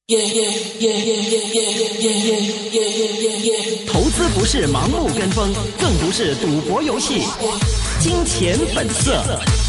投資不是盲目跟風，更不是賭博遊戲。金錢本色。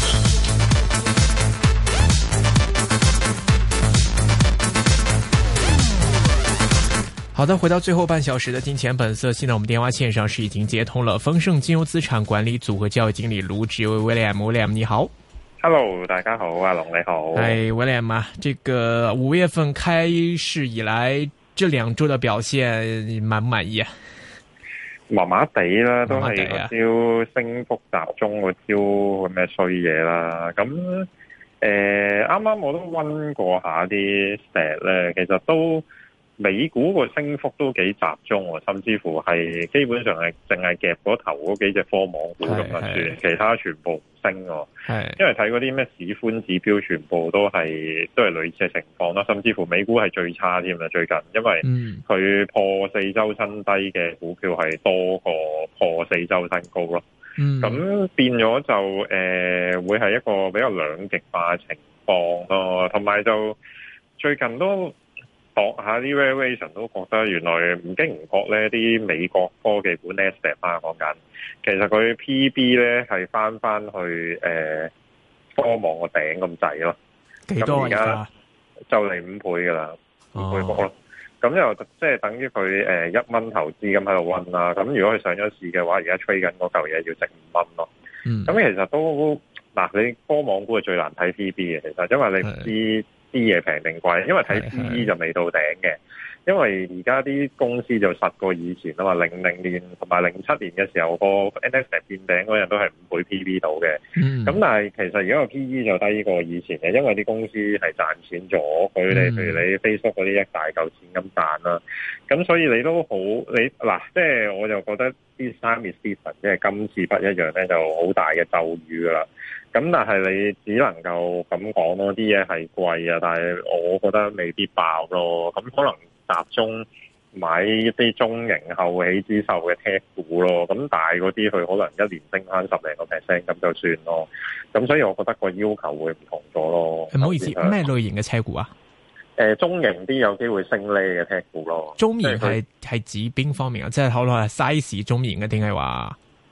好的，回到最後半小時的金錢本色。現在我們電話線上是已經接通了豐盛金融資產管理組合交易經理盧志威 William， 你好。 Hello， 大家好，阿龍你好。 哎 William 啊，這個5月份開市以來，這2周的表現滿不滿意啊？ 麻麻地啦，都係個招升幅集中個招咁嘅衰嘢啦。咁啱啱我都溫過下啲 stat 咧，其實都美股個升幅都幾集中喎，甚至乎係基本上係淨係夾嗰頭嗰幾隻科網股咁就算，其他全部唔升喎。因為睇嗰啲咩市寬指標，全部都係類似嘅情況啦。甚至乎美股係最差添啦，最近，因為佢破4周新低嘅股票係多過破4周新高咯。咁變咗就會係一個比較兩極化嘅情況咯。同埋就最近都度下啲 valuation 都覺得原來唔經唔覺咧，啲美國科技股 Nasdaq 講緊，其實佢 PB 咧係翻去科網個頂咁滯咯。幾多而家就嚟5倍噶啦，5倍幅咯。咁又即係等於佢1蚊投資咁喺度溫啦。咁如果佢上咗市嘅話，而家吹緊嗰嚿嘢要值5蚊咯。咁其實都嗱，你科網股係最難睇 PB 嘅，其實因為你唔知啲嘢平定貴，因為睇 PE 就未到頂嘅，因為而家啲公司就實過以前啊嘛，00年同埋07年嘅時候個 Nasdaq 見頂嗰日都係5倍 PB 到嘅，咁但係其實而家個 PE就低過以前嘅，因為啲公司係賺錢咗，佢哋譬如你 Facebook 嗰啲一大嚿錢咁賺啦，咁所以你都好你嗱，即係我就覺得啲 Sam Stephen 即係今次不一樣咧，就好大嘅咒語噶啦。咁但係你只能夠咁講咯，啲嘢係貴啊，但係我覺得未必爆咯。咁可能集中買一啲中型後起之秀嘅 tech 股咯。咁大嗰啲佢可能一年升翻10零個 percent 咁就算咯。咁所以我覺得個要求會唔同咗咯。唔好意思，咩類型嘅車股啊？中型啲有機會升呢嘅 tech 股咯。中型係指邊方面啊？即係可能係 size 中型嘅，定係話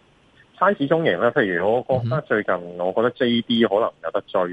size 中型咧？譬如我覺得最近我覺得 JD 可能有得追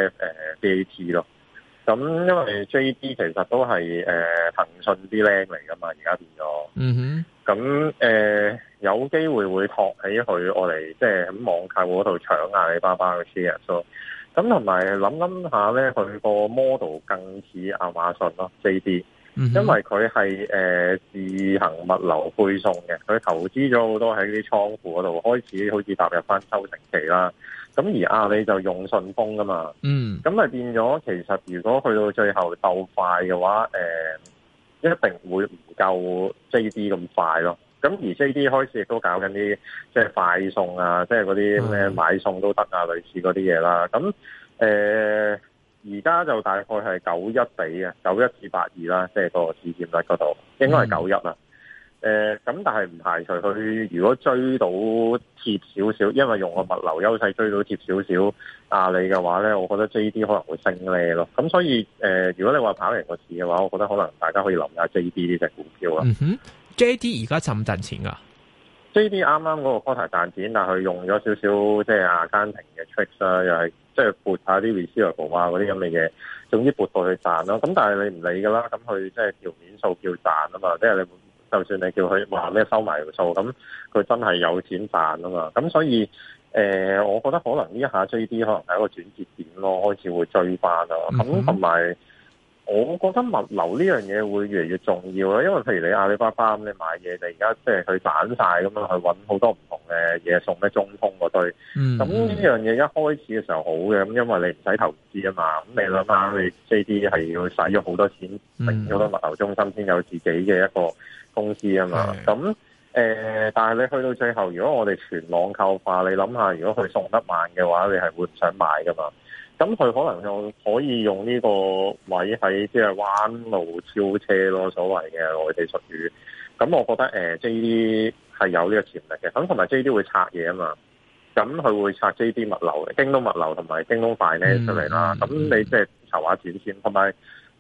BAT 咯。咁因為 JD 其實都係騰訊啲靚嚟噶嘛，而家變咗。咁有機會托起佢我嚟即係喺網購嗰度搶阿里巴巴嘅 share 咯。咁同埋諗下咧，佢個 model 更似亞馬遜咯 JD。因為佢係自行物流配送嘅，佢投資咗好多喺啲倉庫嗰度，開始好似踏入翻收成期啦。咁而阿里就用順豐噶嘛，咁咪變咗其實如果去到最後鬥快嘅話，一定會唔夠 JD 咁快咯。咁而 JD 開始亦都搞緊啲即係快送啊，即係嗰啲咩買餸都得啊，類似嗰啲嘢啦。咁而家就大概係91比嘅，91至82啦，即係個市佔率嗰度應該係91啦。咁但係唔排除佢如果追到貼少少，因為用個物流優勢追到貼少少阿里嘅話咧，我覺得 JD 可能會升咧咯。咁所以如果你話跑贏個市嘅話，我覺得可能大家可以諗下 JD 呢隻股票啦。JD 而家賺唔賺錢啊？JD 啱啱嗰個 quarter 賺錢，但係佢用咗少少即係阿根廷嘅 tricks 啦，又係即係撥下啲 receivable 啊嗰啲咁嘅嘢，總之撥到去賺咯。咁但係你唔理噶啦，咁佢即係條面數叫賺啊嘛，即係你就算你叫佢話咩收埋條數，咁佢真係有錢賺啊嘛。咁所以我覺得可能呢一下 JD 可能係一個轉折點咯，開始會追翻啊。咁同埋我覺得物流呢樣嘢會越嚟越重要啦，因為譬如你阿里巴巴咁，你買嘢你而家即係佢散晒咁樣去揾好多唔同嘅嘢送咩中通嗰堆，咁呢樣嘢一開始嘅時候好嘅，咁因為你唔使投資啊嘛，咁你諗下你 JD 係要使咗好多錢，成咗好多物流中心先有自己嘅一個公司啊嘛，咁但係你去到最後，如果我哋全網購化，你諗下，如果佢送得慢嘅話，你係會唔想買噶嘛？咁佢可能就可以用呢個位喺即係彎路超車咯，所謂嘅內地術語。咁我覺得JD 係有呢個潛力嘅。咁同埋 JD 會拆嘢啊嘛。咁佢會拆 JD 物流、京東物流同埋京東快呢出嚟啦。咁你即係籌下錢先，同埋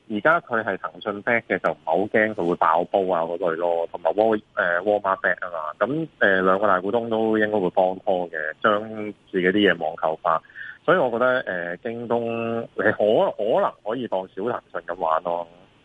而家佢係騰訊 back 嘅，就唔係好驚佢會爆煲啊嗰類咯，同埋Walmart back 啊嘛，咁兩個大股東都應該會幫拖嘅，將自己啲嘢網購化，所以我覺得京東你可能可以當小騰訊咁玩咯。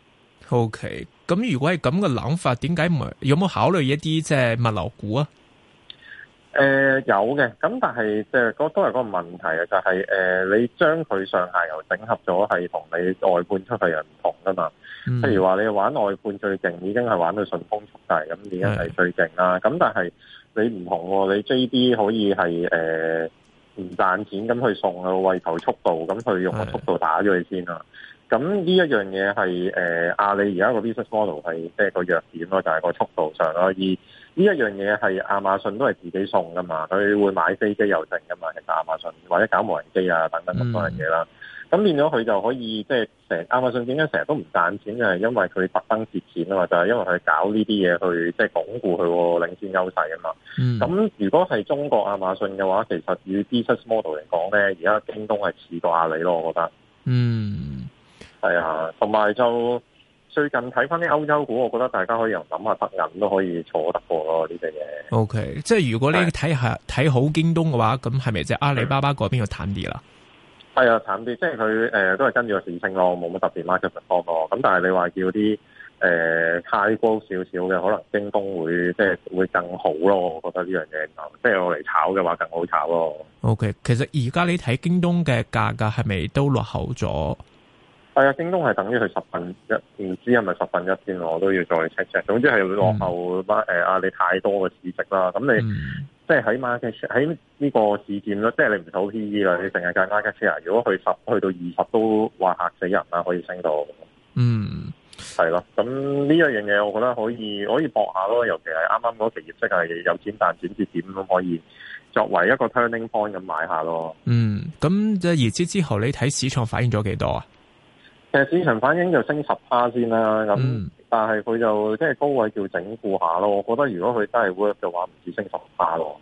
OK， 咁如果係咁嘅諗法，點解唔係有冇考慮一啲即係物流股啊？ 有嘅，咁但係即係都係嗰個問題啊，就係你將佢上下游整合咗，係同你外判出去又唔同噶嘛。譬如話你玩外判最勁，已經係玩到順豐速遞，咁已經係最勁啦。咁但係你唔同喎，你 JD 可以係唔賺錢咁去送啊，為求速度，咁佢用個速度打咗佢先啦。咁呢一樣嘢係阿里而家個 business model 係即係個弱點咯，就係個速度上咯。而呢一樣嘢係亞馬遜都係自己送噶嘛，佢會買飛機又剩噶嘛，其實亞馬遜或者搞無人機啊等等咁多樣嘢啦。咁變咗佢就可以即係亞馬遜點解成日都唔賺錢，就係因為佢特登蝕錢啊嘛，就係因為佢搞呢啲嘢去即係鞏固佢個領先優勢啊嘛。咁如果係中國亞馬遜嘅話，其實以 business model 嚟講咧，而家京東係似過阿里咯，我覺得。係啊，同埋就最近睇翻啲歐洲股，我覺得大家可以又諗下德銀都可以坐得過咯呢隻嘢。 OK， 即係如果你睇好京東嘅話，咁係咪即係阿里巴巴嗰邊要淡啲啦？ 係啊，淡啲，即係佢都係跟住個市升咯，冇乜特別 market perform 咯。咁但係你話叫啲太高少少嘅，可能京東會即係會更好咯。我覺得呢樣嘢即係我嚟炒嘅話更好炒咯。OK， 其實而家你睇京東嘅價格係咪都落後咗？ 係啊，京東係等於佢1/10，唔知係咪1/10先，我都要再 check。總之係落後阿里太多嘅市值啦。咁你即係喺 market share 喺呢個市佔咯，即係你唔數 PE 啦，你成日計 market share。如果去10去到20都話嚇死人啦，可以升到。係咯。咁呢一樣嘢，我覺得可以搏下咯。尤其係啱啱嗰期業績係有錢賺錢節點咁，可以作為一個 turning point 咁買下咯。 咁即係業績之後，你睇市場反映咗幾多啊？ 其實市場反應就升10%先啦，咁但係佢就即係高位叫整固下咯。我覺得如果佢真係 work 嘅話，唔止升10%咯。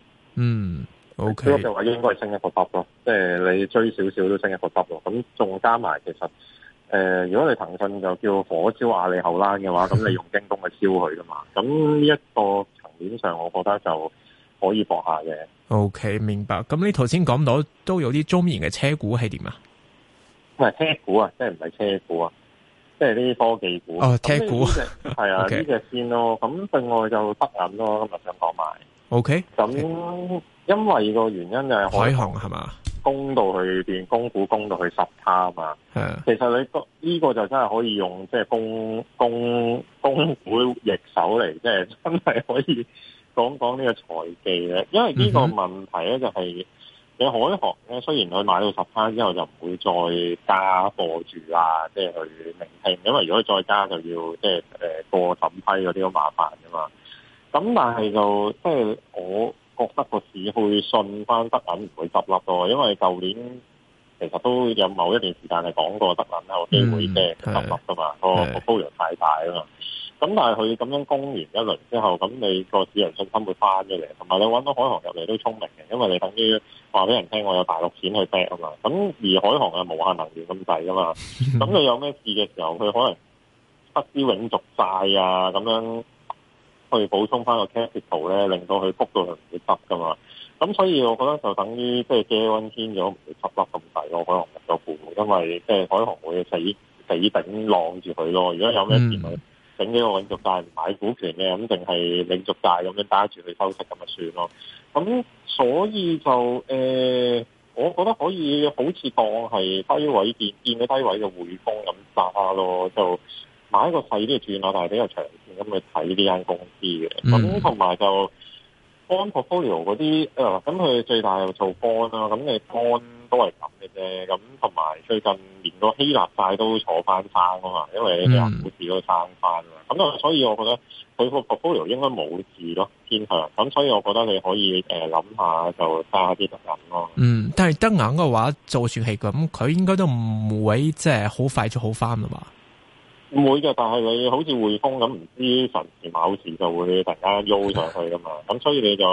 OK。 work 嘅話應該係升一個級咯，即係你追少少都升一個級咯。咁仲加埋其實如果你騰訊就叫火燒阿里後欄嘅話，咁你用京東去燒佢噶嘛。咁呢一個層面上，我覺得就可以搏下嘅。 OK， 明白。咁你頭先講到都有啲中型嘅車股係點啊？ 唔係車股啊，即係唔係車股啊，即係啲科技股。 車股係啊，呢隻先咯。咁另外就德銀咯，今日想講埋。 OK。 咁因為個原因就係海航係嘛？ 供到去變供股，供到去10%啊嘛。其實你呢個就真係可以用即係供股易手嚟，即係真係可以講呢個財技嘅。因為呢個問題咧就係。你海航咧，雖然佢買到10%之後就唔會再加貨住啦，即係去聆聽，因為如果再加就要即係過審批嗰啲好麻煩噶嘛。咁但係就即係我覺得個市會信翻德銀唔會執笠咯，因為舊年其實都有某一段時間係講過德銀有機會即係執笠噶嘛，個波量太大啊嘛。咁但係佢咁樣攻完一輪之後，咁你個市場信心會翻咗嚟，同埋你揾到海航入嚟都聰明嘅，因為你等於話俾人聽我有大陸錢去 back 啊嘛。咁而海航係無限能源咁滯噶嘛，咁你有咩事嘅時候，佢可能不知永續債啊咁樣去補充翻個 capital 咧，令到佢谷到佢唔會執噶嘛。咁所以我覺得就等於即係借溫天咗唔會執笠咁滯咯，海航入咗股，因為即係海航會死頂晾住佢咯。如果有咩事咪整幾個永續債唔買股權嘅，咁定係永續債咁樣打住去收息咁就算咯。咁所以就我覺得可以好似當係低位見咗低位嘅匯豐咁揸咯，就買一個細啲嘅轉下，但係比較長線咁去睇呢間公司嘅。咁同埋就 bond portfolio 嗰啲咁佢最大又做 bond 啦，咁你 bond 都係咁嘅啫。咁同埋最近連個希臘債都坐翻生啊嘛，因為希臘股市都生翻啊。咁所以我覺得佢個 portfolio 應該冇事咯，偏向。咁所以我覺得你可以諗下就揸啲德銀咯。但係德銀嘅話，就算係咁，佢應該都唔會即係好快就好翻啦嘛。唔會嘅，但係你好似匯豐咁，唔知神時某時就會突然間喐上去噶嘛。咁所以你就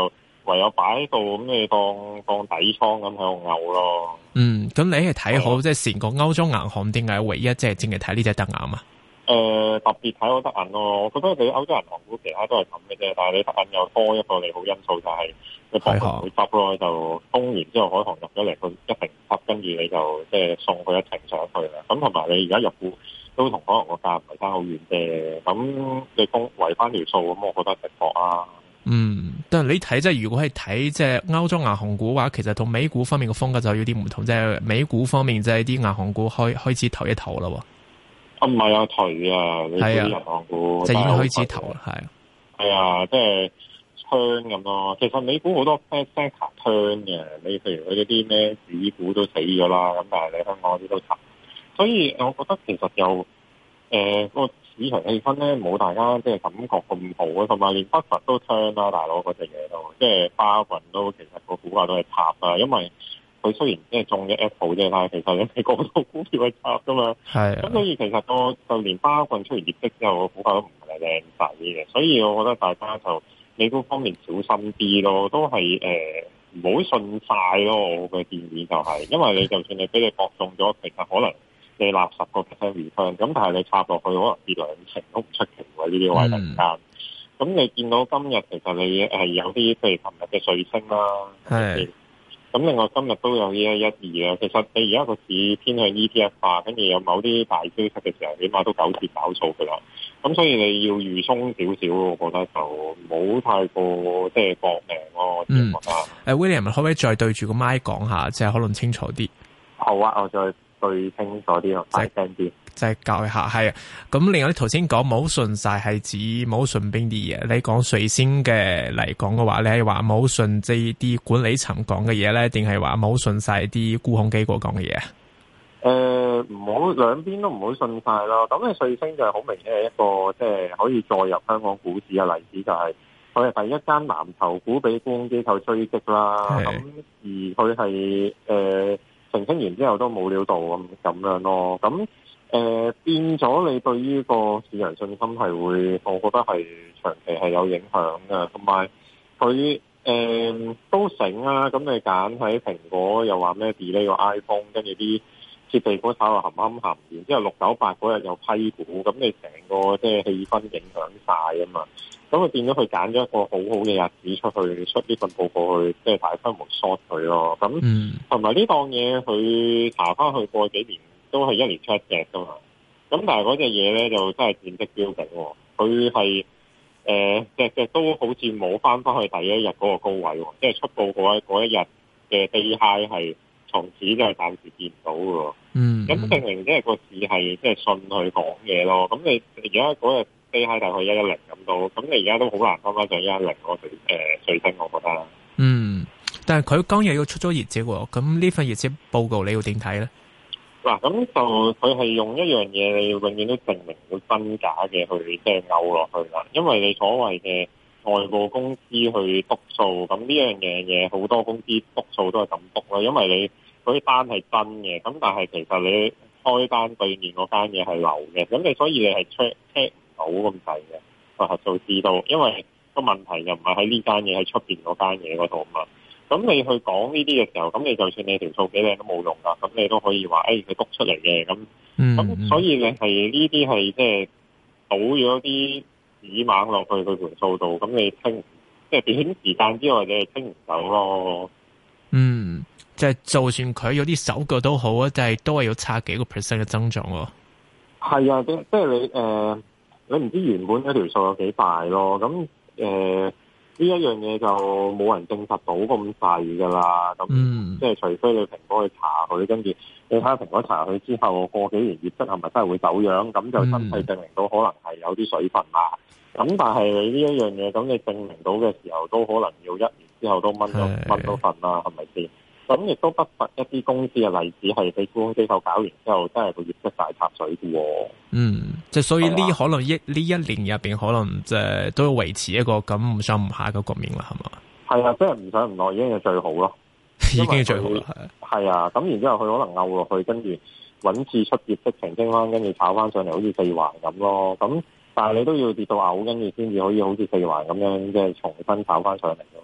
唯有擺喺度，咁你當底倉咁喺度嘔咯。 咁你係睇好即係成個歐洲銀行點解唯一即係淨係睇呢隻德銀啊？ 特別睇好德銀咯，我覺得你歐洲銀行股其他都係咁嘅啫，但係你德銀又多一個利好因素，就係你博佢唔會執咯，就封完之後海航入咗嚟，佢一定執，跟住你就即係送佢一程上去啦。咁同埋你而家入股都同海航個價唔係差好遠啫，咁你圍翻條數，咁我覺得值博啊。 但係你睇即係如果係睇即係歐洲銀行股嘅話，其實同美股方面嘅風格就有啲唔同，即係美股方面即係啲銀行股開始投一投啦。 唔係啊，頹啊！你啲銀行股就已經開始投啦， 係啊，即係 turn 咁咯。其實美股好多 sector turn 嘅，你譬如佢嗰啲咩指股都死咗啦，咁但係你香港嗰啲都沉，所以我覺得其實又個市場氣氛咧冇大家即係感覺咁好啊，同埋連北佛都 turn 啦，大佬嗰隻嘢都即係巴郡都其實個股價都係插啦，因為佢雖然即係中咗 Apple 啫，但係其實你係個個股票係插噶嘛。咁所以其實就連巴郡出完業績之後，個股價都唔係靚仔嘅。所以我覺得大家就美股方面小心啲咯，都係唔好信晒咯。我嘅建議就係，因為你就算你俾你博中咗，其實可能你納10%return，咁但係你插落去可能跌2成都唔出奇喎。呢啲位突然間，咁你見到今日其實你係有啲譬如琴日嘅瑞星啦，咁另外今日都有112啦。其實你而家個市偏向 ETF 化，跟住有某啲大消息嘅時候，起碼都9折找數噶啦。咁所以你要預鬆少少，我覺得就唔好太過即係搏命咯。我覺得。 William 可唔可以再對住個麥講下，即係可能清楚啲？ 好啊，我再對清楚啲咯，大聲啲。 即係教一下，係啊。咁另外你頭先講冇信晒係指冇信邊啲嘢？你講瑞星嘅嚟講嘅話，你係話冇信即係啲管理層講嘅嘢咧，定係話冇信晒啲沽空機構講嘅嘢？ 唔好兩邊都唔好信晒咯。咁你瑞星就係好明顯係一個即係可以再入香港股市嘅例子，就係佢係第一間藍籌股俾沽空機構追擊啦。咁而佢係澄清完之後都冇料到咁樣咯。咁變咗你對於個市場信心係會，我覺得係長期係有影響嘅。同埋佢都醒啦，咁你揀喺蘋果又話咩 delay 個 iPhone， 跟住啲設備股炒到冚冚冚，然之後698嗰日有批股，咁你成個即係氣氛影響晒啊嘛。咁佢變咗佢揀咗一個好好嘅日子出呢份報告去，即係大規模 short 佢咯。咁同埋呢檔嘢佢查翻去過幾年都係1年出1隻噶嘛。咁但係嗰隻嘢咧就真係戰績標炳喎。佢係隻都好似冇翻去第一日嗰個高位喎，即係出報嗰一日嘅 day high 係從此就係暫時見唔到嘅喎。咁證明即係個市係即係信佢講嘢咯。咁你而家嗰日day high大概110咁多，咁你而家都好難翻翻上110嗰個水平，我覺得。 但係佢今日要出咗業績喎，咁呢份業績報告你要點睇咧？ 嗱，咁就佢係用一樣嘢，你永遠都證明到真假嘅去即係勾落去啦。因為你所謂嘅外部公司去督數，咁呢樣嘢好多公司督數都係咁督啦。因為你嗰啲單係真嘅，咁但係其實你開單對面嗰間嘢係流嘅，咁你所以你係 check 唔到咁滯嘅個核數知道，因為個問題就唔係喺呢間嘢，喺出邊嗰間嘢嗰度嘛。咁你去講呢啲嘅時候，咁你就算你條數幾靚都冇用噶，咁你都可以話，佢督出嚟嘅，咁所以你係呢啲係即係倒咗啲紙猛落去佢盤數度，咁你清即係短時間之外你係清唔到咯。 即係就算佢有啲手腳都好啊，但係都係要差幾個 percent 嘅增長喎。 係啊，即係你唔知原本嗰條數有幾大咯，咁呢一樣嘢就冇人證實到咁細噶啦，咁即係除非你蘋果去查佢，跟住你睇下蘋果查佢之後過幾年業績係咪真係會走樣，咁就真係證明到可能係有啲水分啦。咁但係你呢一樣嘢，咁你證明到嘅時候，都可能要1年之後都掹到份啦，係咪先？咁亦都不乏一啲公司嘅例子係俾沽空機構搞完之後，真係個業績大插水嘅喎。 即係所以呢可能呢一年入邊，可能即係都要維持一個咁唔上唔下嘅局面啦，係嘛？係啊，即係唔上唔落已經係最好咯， 已經係最好啦。 係啊，咁然之後佢可能拗落去，跟住揾次出業績澄清翻，跟住炒翻上嚟，好似4環咁咯。咁但係你都要跌到嘔，跟住先至可以好似4環咁樣，即係重新炒翻上嚟㗎嘛。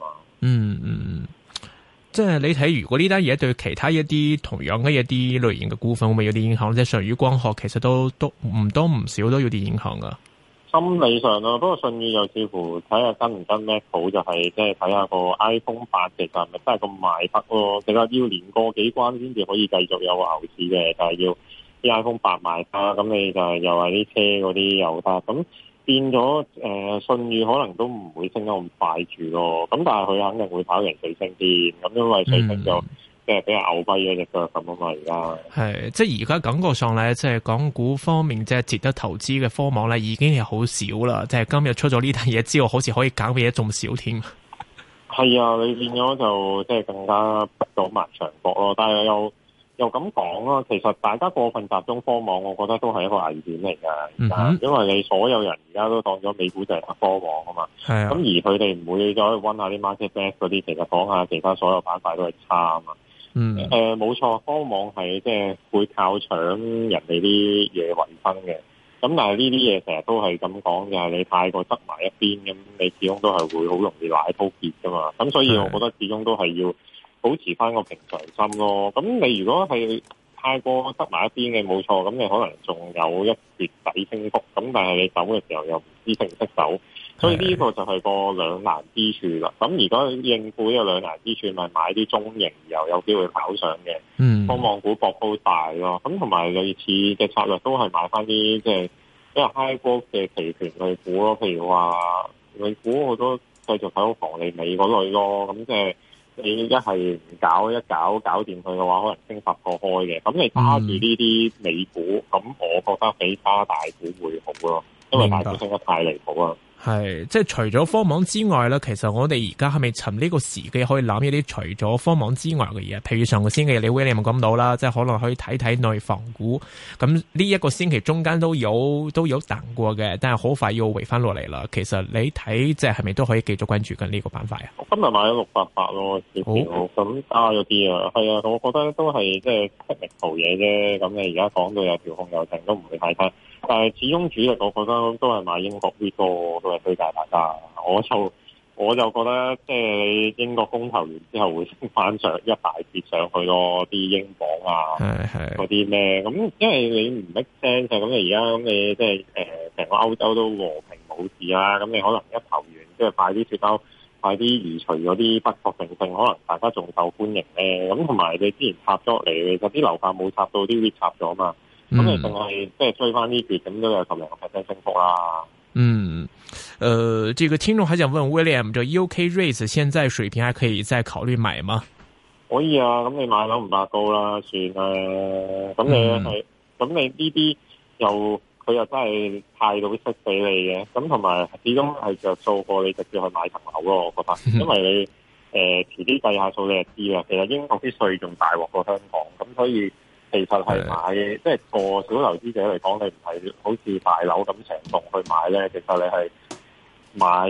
即係你睇，如果呢單嘢對其他一啲同樣嘅一啲類型嘅股份會唔會有啲影響？即係舜宇光學其實都唔多唔少都有啲影響噶。 心理上咯，不過舜宇又似乎睇下跟唔跟 Mac 好，就係即係睇下個 iPhone 8其實係咪真係咁賣得咯？其實要連過幾關先至可以繼續有個牛市嘅，就係要啲 iPhone 8賣得，咁你就係又係啲車嗰啲又得，咁變咗舜宇可能都唔會升得咁快住咯。咁但係佢肯定會跑贏瑞聲啲，咁因為瑞聲就即係比較牛跛嘅隻腳咁啊嘛。而家係即係而家感覺上咧，即係港股方面即係值得投資嘅科網咧，已經係好少啦。即係今日出咗呢單嘢之後，好似可以揀嘅嘢仲少添。 係啊，你變咗就即係更加不到埋牆角咯。但係又咁講啦，其實大家過分集中科網，我覺得都係一個危險嚟㗎。因為你所有人而家都當咗美股就係科網啊嘛。係啊。咁而佢哋唔會再溫下啲 market best 嗰啲，其實講下其他所有板塊都係差啊嘛。冇錯，科網係即係會靠搶人哋啲嘢為生嘅。咁但係呢啲嘢成日都係咁講，就係你太過側埋一邊，咁你始終都係會好容易奶鋪結㗎嘛。咁所以我覺得始終都係要保持翻個平常心咯。咁你如果係太過側埋一邊嘅，冇錯，咁你可能仲有一月底升幅，咁但係你走嘅時候又唔知識唔識走，所以呢個就係個兩難之處啦。咁如果應付呢個兩難之處，咪買啲中型又有機會跑上嘅科網股博高大咯。咁同埋類似嘅策略都係買翻啲即係比較 high growth 嘅期權類股咯。譬如話類股我都繼續睇好房利美嗰類咯。咁即係你一係唔搞掂佢嘅話，可能升10個開嘅。咁你揸住呢啲美股，咁我覺得比揸大股會好咯，因為大股升得太離譜啦。 係，即係除咗科網之外咧，其實我哋而家係咪趁呢個時機可以諗一啲除咗科網之外嘅嘢？譬如上個星期你 William 講到啦，即係可能可以睇睇內房股。咁呢一個星期中間都有彈過嘅，但係好快要回翻落嚟啦。其實你睇即係咪都可以繼續關注緊呢個板塊啊？我今日買咗688咯，咁加咗啲啊，係啊，我覺得都係即係 technical 嘢啫。咁你而家講到有調控有停，都唔會太差。但係始終主力，我覺得都係買英國呢個，都係推介大家。我就覺得即係英國公投完之後會升翻上一大截上去咯，啲英鎊啊，嗰啲咩咁，因為你唔 make sense 咁你而家咁你即係成個歐洲都和平冇事啦，咁你可能一投完即係快啲脫歐，快啲移除嗰啲不確定性，可能大家仲受歡迎咧。咁同埋你之前插咗落嚟，其實啲樓價冇插到，啲 REIT 插咗嘛。咁你淨係即係追翻呢橛，咁都有10%升幅啦。 這個聽眾還想問 William， 這 UK REITs 現在水平還可以再考慮買嗎？ 可以啊，咁你買樓唔怕高啦，算啦。咁咁你呢啲佢又真係派到息俾你嘅，咁同埋始終係着數過你直接去買層樓咯，我覺得。因為你遲啲計下數你就知啦。其實英國啲稅仲大鑊過香港，咁所以。其實係買，即係個小投資者嚟講，你唔係好似大樓咁成棟去買咧。其實你係買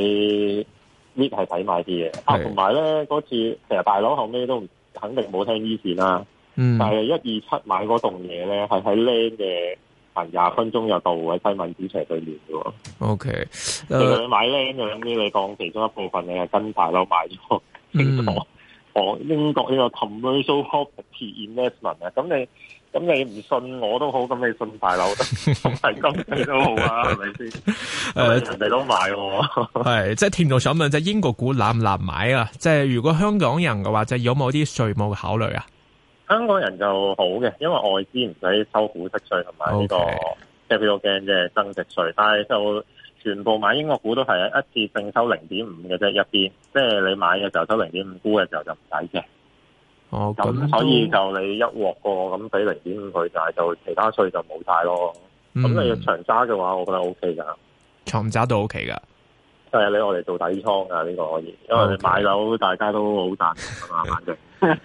REIT 係抵買啲嘅。同埋咧嗰次，其實大樓後尾都肯定冇聽依線啦。但係127買嗰棟嘢咧，係喺 land 嘅行20分鐘就到喺西敏寺斜對面嘅喎。 OK， 其實你買 land 嘅咁啲，你當其中一部分你係跟大樓買咗清楚。英國呢個 commercial property investment 啊，咁你唔信我都好，咁你信大樓得，係咁你都好啊，係咪先？人哋都買喎。 係，即係聽眾想問，即係英國股難唔難買啊？即係如果香港人嘅話，就有冇啲稅務嘅考慮啊？ 香港人就好嘅，因為外資唔使收股息稅同埋呢個 capital gain 嘅增值稅，但係就全部買英國股都係一次性收0.5嘅啫，一邊即係你買嘅時候收0.5，沽嘅時候就唔使嘅。咁所以就你一鑊過咁俾0.5佢，但係就其他稅就冇晒咯。咁你長揸嘅話，我覺得 O K 噶， 長揸都 O K 噶。 係你我哋做底倉噶呢個可以，因為你買樓大家都好賺啊嘛，反正。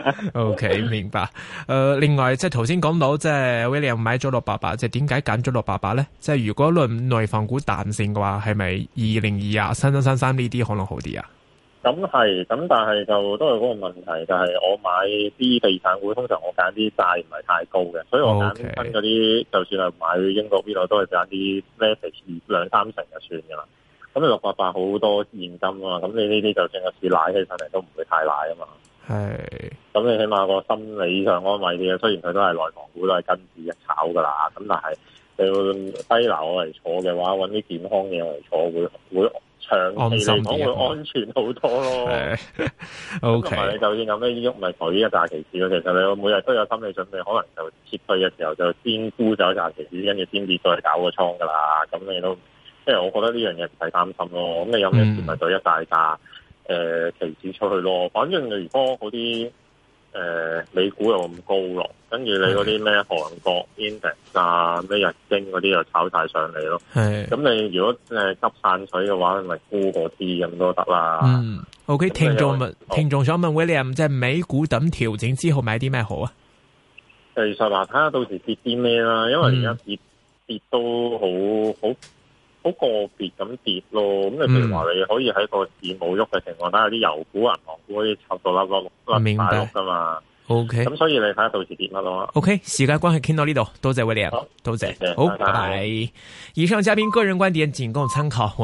O K 明白。另外即係頭先講到即係 William 買咗688，即係點解揀咗688咧？即係如果論內房股彈性嘅話，係咪202啊、3333呢啲可能好啲啊？ 咁係，咁但係就都係嗰個問題，就係我買啲地產股，通常我揀啲債唔係太高嘅，所以我揀親嗰啲，就算係買英國呢度都係揀啲 leverage 2-3成就算噶啦。 咁你688好多現金啊嘛，咁你呢啲就算個市瀨起上嚟都唔會太瀨啊嘛。係，咁你起碼個心理上安慰啲嘅，雖然佢都係內房股都係跟住一炒噶啦，咁但係你要低樓嚟坐嘅話，揾啲健康嘢嚟坐會長期嚟講會安全好多咯。O K， 同埋你就算有咩喐咪舉一紮期指咯，其實你每日都有心理準備，可能就撤退嘅時候就先沽走一紮期指，跟住先至再搞個倉噶啦。咁你都即係我覺得呢樣嘢唔使擔心咯。咁你有咩事咪舉一大紮期指出去咯。反正你如果嗰啲美股又咁高落，跟住你嗰啲咩韓國 index 啊、咩日經嗰啲又炒晒上嚟咯。係，咁你如果急散水嘅話，咪沽嗰啲咁都得啦。 OK， 聽眾想問 William， 即係美股等調整之後買啲咩好啊？ 其實嗱，睇下到時跌啲咩啦，因為而家跌都好個別咁跌咯。咁你譬如話你可以喺個市冇喐嘅情況底下，啲油股、銀行股嗰啲插到甩大碌噶嘛。OK， 咁所以你睇下到時跌乜咯。 OK， 時間關係傾到呢度，多謝 William，多謝，好，拜拜。以上嘉賓個人觀點僅供參考。